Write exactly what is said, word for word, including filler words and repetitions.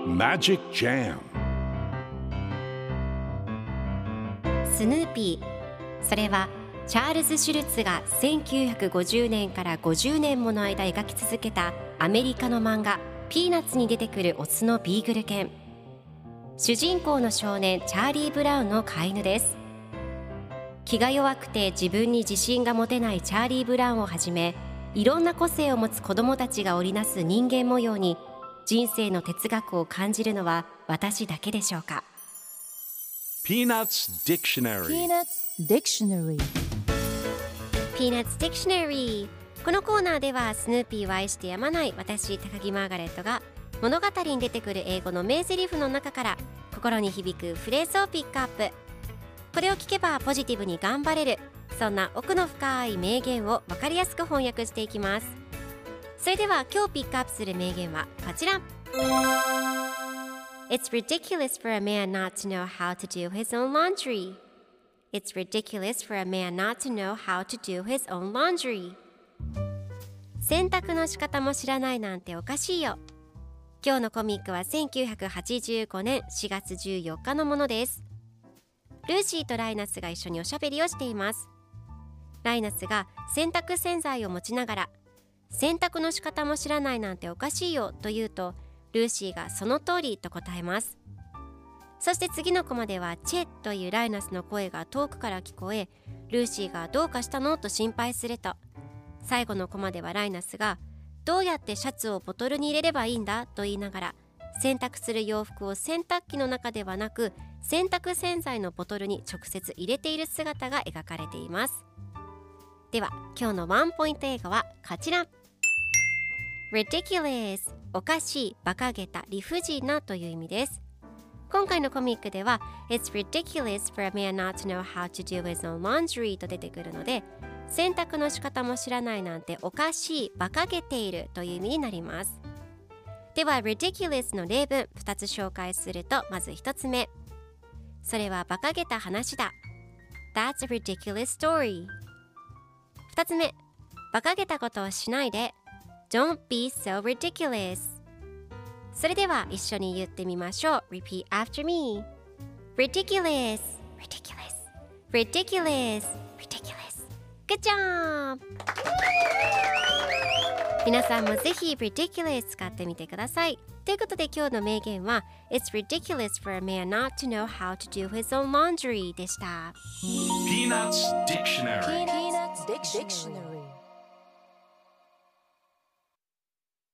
Magic Jam スヌーピー、それはチャールズ・シュルツがせんきゅうひゃくごじゅうねんからごじゅうねんもの間描き続けたアメリカの漫画ピーナッツに出てくるオスのビーグル犬。主人公の少年チャーリー・ブラウンの飼い犬です。気が弱くて自分に自信が持てないチャーリー・ブラウンをはじめ、いろんな個性を持つ子どもたちが織りなす人間模様に人生の哲学を感じるのは私だけでしょうか。 Peanuts Dictionary Peanuts Dictionary Peanuts Dictionary。 このコーナーではスヌーピーを愛してやまない私高木マーガレットが物語に出てくる英語の名台詞の中から心に響くフレーズをピックアップ。これを聞けばポジティブに頑張れる、そんな奥の深い名言を分かりやすく翻訳していきます。それでは今日ピックアップする名言はこちら。 It's ridiculous for a man not to know how to do his own laundry. It's ridiculous for a man not to know how to do his own laundry. 洗濯の仕方も知らないなんておかしいよ。今日のコミックはせんきゅうひゃくはちじゅうごねんしがつじゅうよっかのものです。ルーシーとライナスが一緒におしゃべりをしています。ライナスが洗濯洗剤を持ちながら、洗濯の仕方も知らないなんておかしいよと言うと、ルーシーがその通りと答えます。そして次のコマではチェというライナスの声が遠くから聞こえ、ルーシーがどうかしたのと心配すると、最後のコマではライナスがどうやってシャツをボトルに入れればいいんだと言いながら、洗濯する洋服を洗濯機の中ではなく洗濯洗剤のボトルに直接入れている姿が描かれています。では今日のワンポイント英語はこちら。 Ridiculous、 おかしい、馬鹿げた、理不尽なという意味です。今回のコミックでは It's ridiculous for a man not to know how to do his own laundry と出てくるので、洗濯の仕方も知らないなんておかしい、馬鹿げているという意味になります。では ridiculous の例文ふたつ紹介すると、まずひとつめ、それは馬鹿げた話だ。 That's a ridiculous story。 ふたつめ、馬鹿げたことをしないで。 Don't be so ridiculous。 それでは一緒に言ってみましょう。 Repeat after me。 Ridiculous Ridiculous Ridiculous Ridiculous。 Good job。皆さんもぜひ ridiculous 使ってみてください。ということで今日の名言は It's ridiculous for a man not to know how to do his own laundry でした。 Peanuts Dictionary Peanuts Dictionary